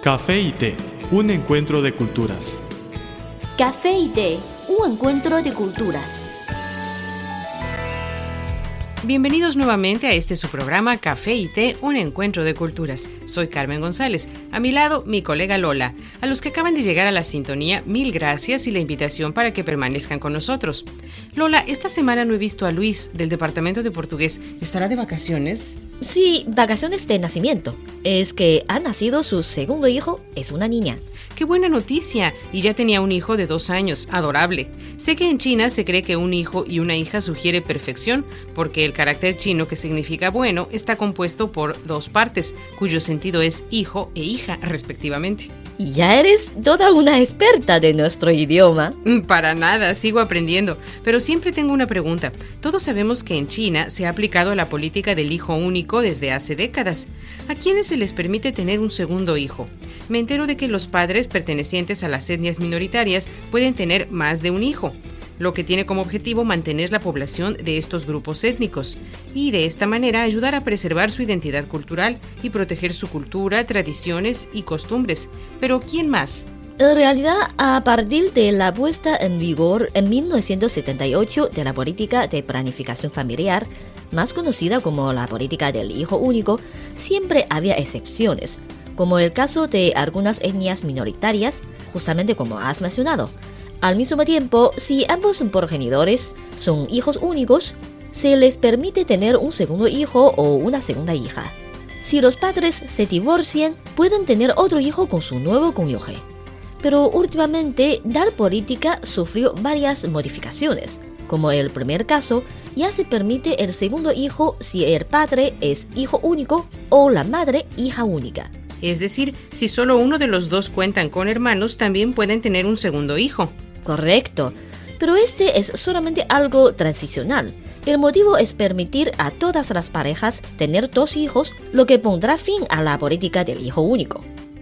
Café y té, un encuentro de culturas. Café y té, un encuentro de culturas. Bienvenidos nuevamente a su programa Café y Té, un encuentro de culturas. Soy Carmen González, a mi lado mi colega Lola. A los que acaban de llegar a la sintonía, mil gracias y la invitación para que permanezcan con nosotros. Lola, esta semana no he visto a Luis del departamento de portugués. ¿Estará de vacaciones? Sí, vacaciones de nacimiento. Es que ha nacido su segundo hijo, es una niña. ¡Qué buena noticia! Y ya tenía un hijo de 2 años, adorable. Sé que en China se cree que un hijo y una hija sugiere perfección, porque el carácter chino que significa bueno está compuesto por 2 partes, cuyo sentido es hijo e hija, respectivamente. Y ya eres toda una experta de nuestro idioma. Para nada, sigo aprendiendo. Pero siempre tengo una pregunta. Todos sabemos que en China se ha aplicado la política del hijo único desde hace décadas. ¿A quiénes se les permite tener un segundo hijo? Me entero de que los padres pertenecientes a las etnias minoritarias pueden tener más de un hijo, lo que tiene como objetivo mantener la población de estos grupos étnicos y de esta manera ayudar a preservar su identidad cultural y proteger su cultura, tradiciones y costumbres. Pero ¿quién más? En realidad, a partir de la puesta en vigor en 1978 de la política de planificación familiar, más conocida como la política del hijo único, siempre había excepciones, como el caso de algunas etnias minoritarias, justamente como has mencionado. Al mismo tiempo, si ambos progenitores son hijos únicos, se les permite tener un segundo hijo o una segunda hija. Si los padres se divorcian, pueden tener otro hijo con su nuevo cónyuge. Pero últimamente, tal política sufrió varias modificaciones. Como el primer caso, ya se permite el segundo hijo si el padre es hijo único o la madre hija única. Es decir, si solo uno de los dos cuentan con hermanos, también pueden tener un segundo hijo. Correcto, pero este es solamente algo transicional. El motivo es permitir a todas las parejas tener 2 hijos, lo que pondrá fin a la política del hijo único.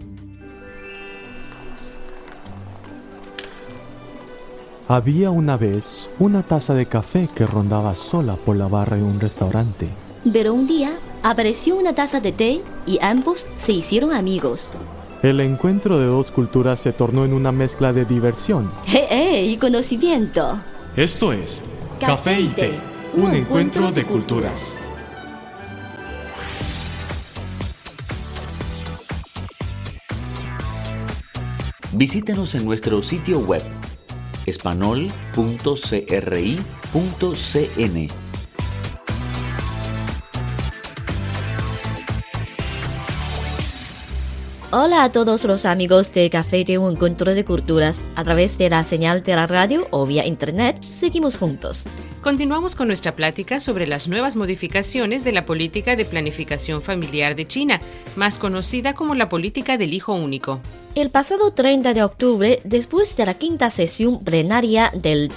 Había una vez una taza de café que rondaba sola por la barra de un restaurante. Pero un día apareció una taza de té y ambos se hicieron amigos. El encuentro de 2 culturas se tornó en una mezcla de diversión. Y conocimiento. Esto es Café y té, un encuentro de culturas. Visítenos en nuestro sitio web espanol.cri.cn. Hola a todos los amigos de Café de un Encuentro de Culturas. A través de la señal de la radio o vía internet, seguimos juntos. Continuamos con nuestra plática sobre las nuevas modificaciones de la política de planificación familiar de China, más conocida como la política del hijo único. El pasado 30 de octubre, después de la quinta sesión plenaria del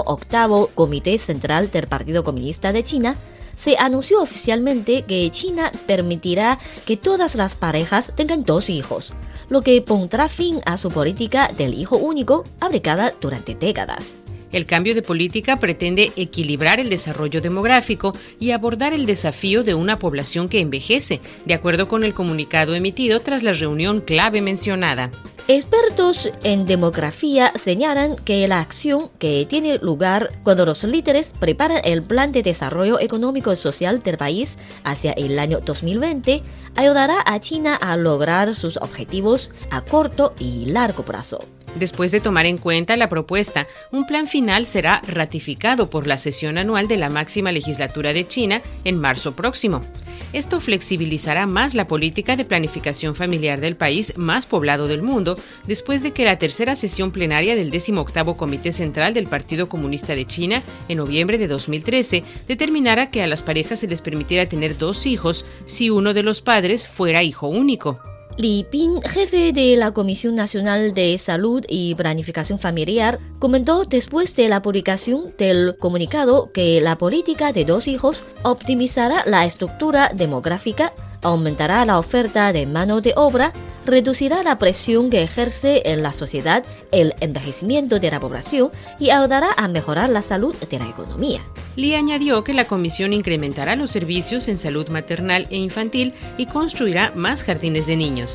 18º Comité Central del Partido Comunista de China, se anunció oficialmente que China permitirá que todas las parejas tengan 2 hijos, lo que pondrá fin a su política del hijo único aplicada durante décadas. El cambio de política pretende equilibrar el desarrollo demográfico y abordar el desafío de una población que envejece, de acuerdo con el comunicado emitido tras la reunión clave mencionada. Expertos en demografía señalan que la acción que tiene lugar cuando los líderes preparan el plan de desarrollo económico y social del país hacia el año 2020 ayudará a China a lograr sus objetivos a corto y largo plazo. Después de tomar en cuenta la propuesta, un plan final será ratificado por la sesión anual de la máxima legislatura de China en marzo próximo. Esto flexibilizará más la política de planificación familiar del país más poblado del mundo, después de que la tercera sesión plenaria del 18º Comité Central del Partido Comunista de China, en noviembre de 2013, determinara que a las parejas se les permitiera tener 2 hijos si uno de los padres fuera hijo único. Li Ping, jefe de la Comisión Nacional de Salud y Planificación Familiar, comentó después de la publicación del comunicado que la política de 2 hijos optimizará la estructura demográfica, aumentará la oferta de mano de obra, reducirá la presión que ejerce en la sociedad el envejecimiento de la población y ayudará a mejorar la salud de la economía. Li añadió que la comisión incrementará los servicios en salud maternal e infantil y construirá más jardines de niños.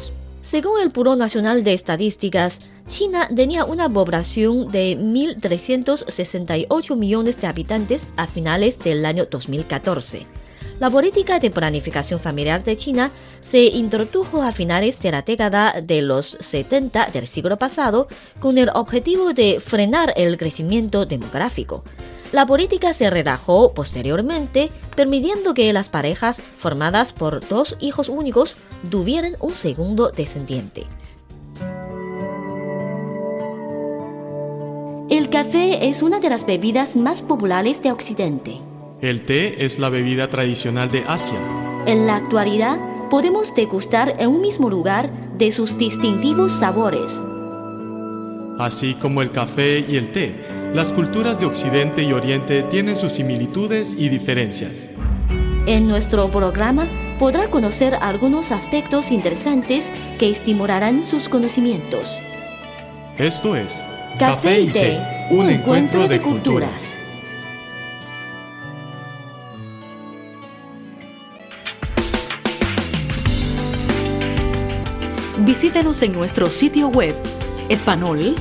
Según el Buró Nacional de Estadísticas, China tenía una población de 1.368 millones de habitantes a finales del año 2014. La política de planificación familiar de China se introdujo a finales de la década de los 70 del siglo pasado con el objetivo de frenar el crecimiento demográfico. La política se relajó posteriormente, permitiendo que las parejas formadas por 2 hijos únicos tuvieran un segundo descendiente. El café es una de las bebidas más populares de Occidente. El té es la bebida tradicional de Asia. En la actualidad, podemos degustar en un mismo lugar de sus distintivos sabores. Así como el café y el té, las culturas de Occidente y Oriente tienen sus similitudes y diferencias. En nuestro programa podrá conocer algunos aspectos interesantes que estimularán sus conocimientos. Esto es Café y Té, un encuentro de culturas. Visítenos en nuestro sitio web espanol.cri.cn.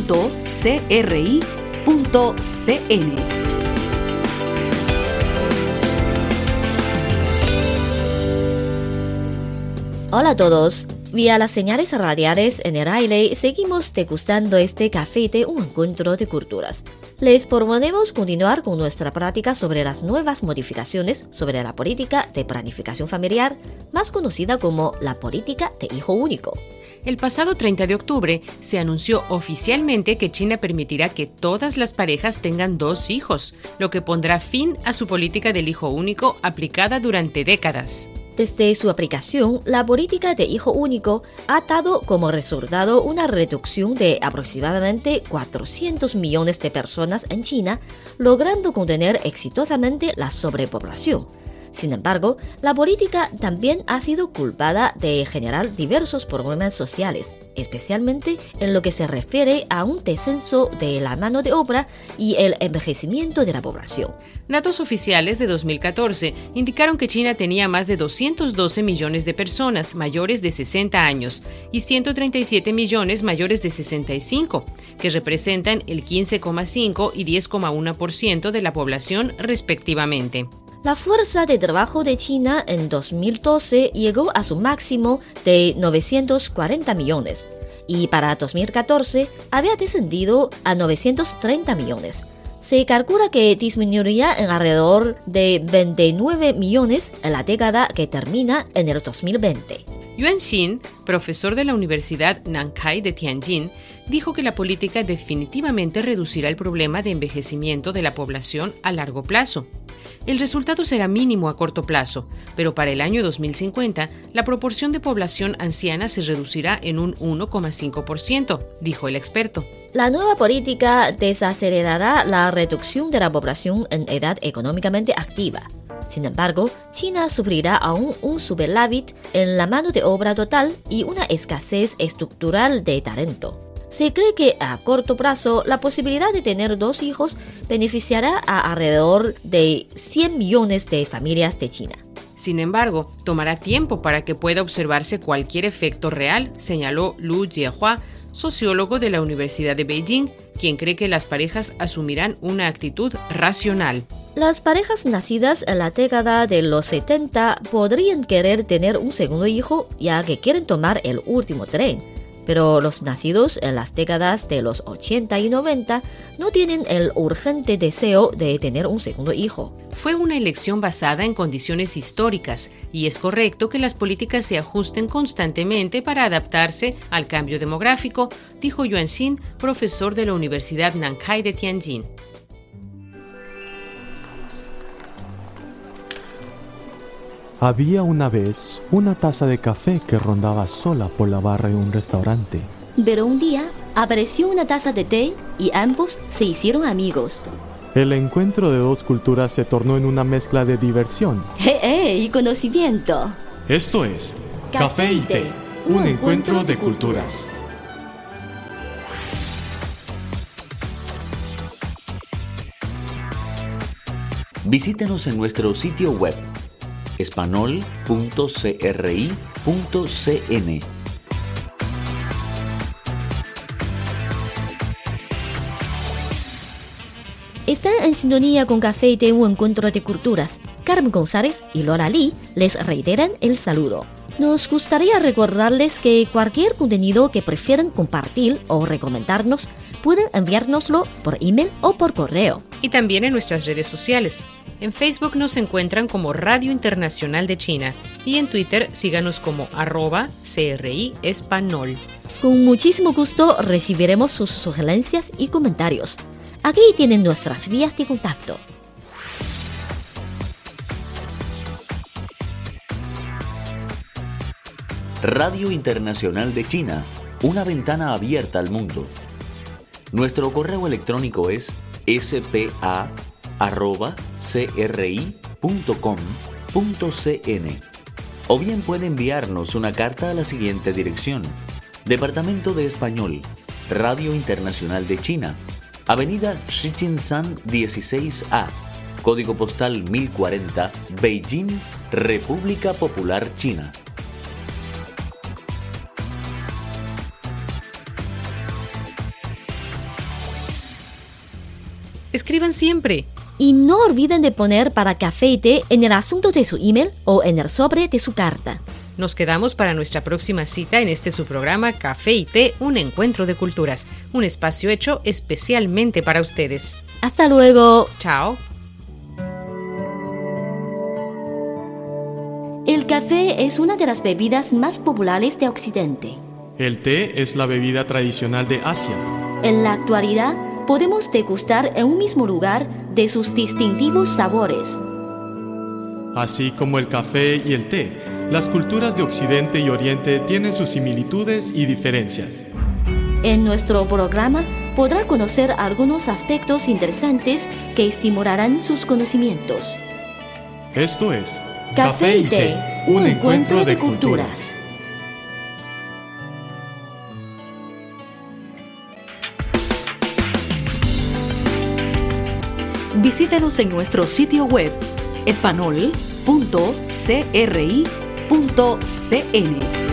Hola a todos. Vía las señales radiales en el aire, seguimos degustando este café de un encuentro de culturas. Les proponemos continuar con nuestra práctica sobre las nuevas modificaciones sobre la política de planificación familiar, más conocida como la política de hijo único. El pasado 30 de octubre se anunció oficialmente que China permitirá que todas las parejas tengan 2 hijos, lo que pondrá fin a su política del hijo único aplicada durante décadas. Desde su aplicación, la política de hijo único ha dado como resultado una reducción de aproximadamente 400 millones de personas en China, logrando contener exitosamente la sobrepoblación. Sin embargo, la política también ha sido culpada de generar diversos problemas sociales, especialmente en lo que se refiere a un descenso de la mano de obra y el envejecimiento de la población. Datos oficiales de 2014 indicaron que China tenía más de 212 millones de personas mayores de 60 años y 137 millones mayores de 65, que representan el 15,5 y 10,1% de la población respectivamente. La fuerza de trabajo de China en 2012 llegó a su máximo de 940 millones y para 2014 había descendido a 930 millones. Se calcula que disminuiría en alrededor de 29 millones en la década que termina en el 2020. Yuan Xin, profesor de la Universidad Nankai de Tianjin, dijo que la política definitivamente reducirá el problema de envejecimiento de la población a largo plazo. El resultado será mínimo a corto plazo, pero para el año 2050, la proporción de población anciana se reducirá en un 1,5%, dijo el experto. La nueva política desacelerará la reducción de la población en edad económicamente activa. Sin embargo, China sufrirá aún un superávit en la mano de obra total y una escasez estructural de talento. Se cree que a corto plazo la posibilidad de tener 2 hijos beneficiará a alrededor de 100 millones de familias de China. Sin embargo, tomará tiempo para que pueda observarse cualquier efecto real, señaló Lu Jiehua, sociólogo de la Universidad de Beijing, quien cree que las parejas asumirán una actitud racional. Las parejas nacidas en la década de los 70 podrían querer tener un segundo hijo ya que quieren tomar el último tren. Pero los nacidos en las décadas de los 80 y 90 no tienen el urgente deseo de tener un segundo hijo. Fue una elección basada en condiciones históricas y es correcto que las políticas se ajusten constantemente para adaptarse al cambio demográfico, dijo Yuan Xin, profesor de la Universidad Nankai de Tianjin. Había una vez una taza de café que rondaba sola por la barra de un restaurante. Pero un día apareció una taza de té y ambos se hicieron amigos. El encuentro de 2 culturas se tornó en una mezcla de diversión y conocimiento. Esto es Café y Té, un encuentro de culturas. Visítenos en nuestro sitio web espanol.cri.cn. en sintonía con Café y Té, un encuentro de culturas. Carmen González y Lola Lee les reiteran el saludo. Nos gustaría recordarles que cualquier contenido que prefieran compartir o recomendarnos, pueden enviárnoslo por email o por correo. Y también en nuestras redes sociales. En Facebook nos encuentran como Radio Internacional de China y en Twitter síganos como @CRI Espanol. Con muchísimo gusto recibiremos sus sugerencias y comentarios. Aquí tienen nuestras vías de contacto. Radio Internacional de China, una ventana abierta al mundo. Nuestro correo electrónico es spa@cri.com.cn o bien puede enviarnos una carta a la siguiente dirección: Departamento de Español, Radio Internacional de China, Avenida Shijinshan 16A, Código Postal 1040, Beijing, República Popular China. Escriban siempre. Y no olviden de poner para Café y Té en el asunto de su email o en el sobre de su carta. Nos quedamos para nuestra próxima cita en este su programa Café y Té, un encuentro de culturas, un espacio hecho especialmente para ustedes. Hasta luego. Chao. El café es una de las bebidas más populares de Occidente. El té es la bebida tradicional de Asia. En la actualidad, podemos degustar en un mismo lugar de sus distintivos sabores. Así como el café y el té, las culturas de Occidente y Oriente tienen sus similitudes y diferencias. En nuestro programa podrá conocer algunos aspectos interesantes que estimularán sus conocimientos. Esto es Café y Té, un encuentro de culturas. Visítenos en nuestro sitio web espanol.cri.cn.